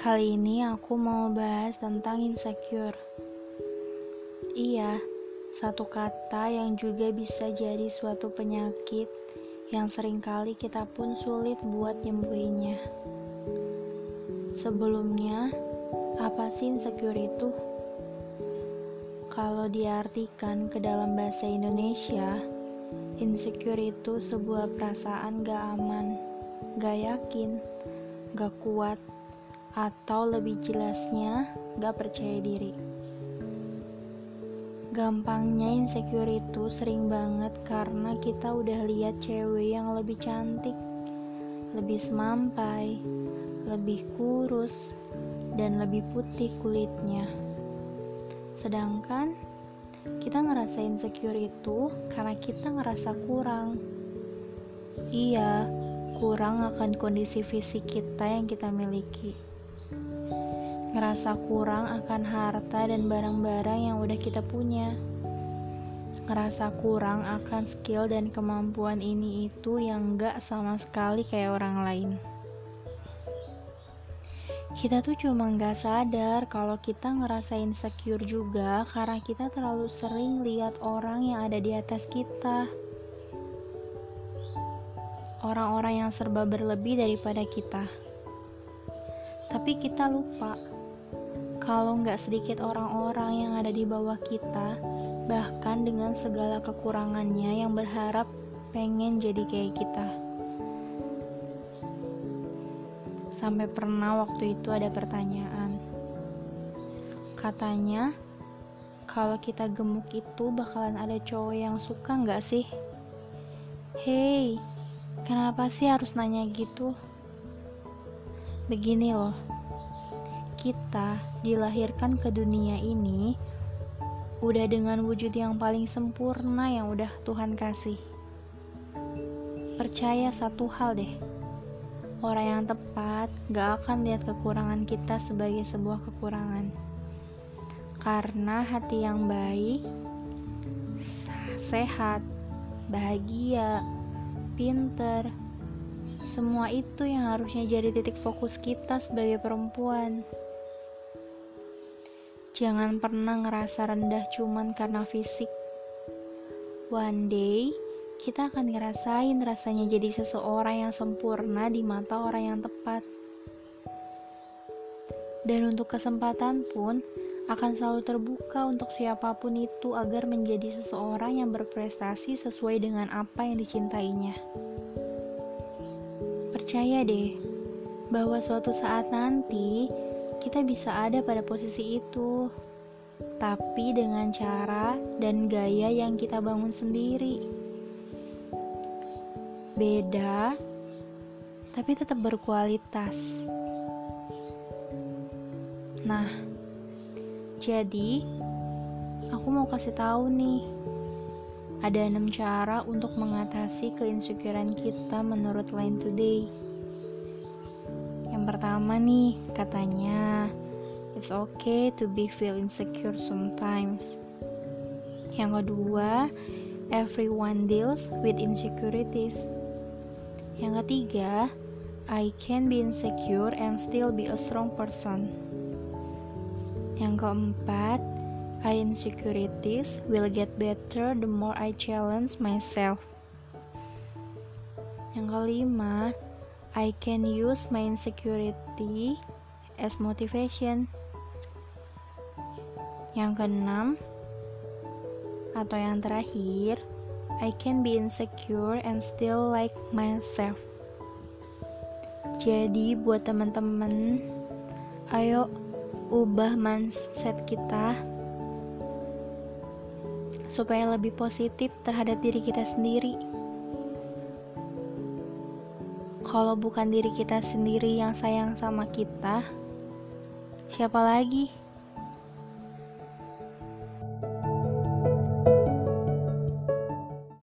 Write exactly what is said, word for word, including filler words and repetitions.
Kali ini aku mau bahas tentang insecure. Iya, satu kata yang juga bisa jadi suatu penyakit yang seringkali kita pun sulit buat nyembuhinnya. Sebelumnya, apa sih insecure itu? Kalau diartikan ke dalam bahasa Indonesia, insecure itu sebuah perasaan gak aman, gak yakin, gak kuat, atau lebih jelasnya, gak percaya diri. Gampangnya insecure itu sering banget karena kita udah lihat cewek yang lebih cantik, lebih semampai, lebih kurus, dan lebih putih kulitnya. Sedangkan kita ngerasa insecure itu karena kita ngerasa kurang. Iya, kurang akan kondisi fisik kita yang kita miliki. Ngerasa kurang akan harta dan barang-barang yang udah kita punya. Ngerasa kurang akan skill dan kemampuan ini itu yang gak sama sekali kayak orang lain. Kita tuh cuma gak sadar kalau kita ngerasa insecure juga karena kita terlalu sering lihat orang yang ada di atas kita. Orang-orang yang serba berlebih daripada kita. Tapi kita lupa kalau nggak sedikit orang-orang yang ada di bawah kita, bahkan dengan segala kekurangannya yang berharap pengen jadi kayak kita. Sampai pernah waktu itu ada pertanyaan. Katanya, kalau kita gemuk itu bakalan ada cowok yang suka nggak sih? Hei, kenapa sih harus nanya gitu? Begini loh, kita dilahirkan ke dunia ini udah dengan wujud yang paling sempurna yang udah Tuhan kasih. Percaya satu hal deh, orang yang tepat gak akan lihat kekurangan kita sebagai sebuah kekurangan. Karena hati yang baik, sehat, bahagia, pinter, semua itu yang harusnya jadi titik fokus kita sebagai perempuan. Jangan pernah ngerasa rendah cuman karena fisik. One day, kita akan ngerasain rasanya jadi seseorang yang sempurna di mata orang yang tepat. Dan untuk kesempatan pun akan selalu terbuka untuk siapapun itu agar menjadi seseorang yang berprestasi sesuai dengan apa yang dicintainya. Percaya deh, bahwa suatu saat nanti kita bisa ada pada posisi itu, tapi dengan cara dan gaya yang kita bangun sendiri. Beda, tapi tetap berkualitas. Nah, jadi aku mau kasih tahu nih, ada enam cara untuk mengatasi keinsecurean kita menurut Line Today. Yang pertama nih, katanya it's okay to be feel insecure sometimes. Yang kedua, everyone deals with insecurities. Yang ketiga, I can be insecure and still be a strong person. Yang keempat, I insecurities will get better the more I challenge myself. Yang kelima, I can use my insecurity as motivation. Yang keenam, atau yang terakhir, I can be insecure and still like myself. Jadi buat teman-teman, ayo ubah mindset kita supaya lebih positif terhadap diri kita sendiri. Kalau bukan diri kita sendiri yang sayang sama kita, siapa lagi?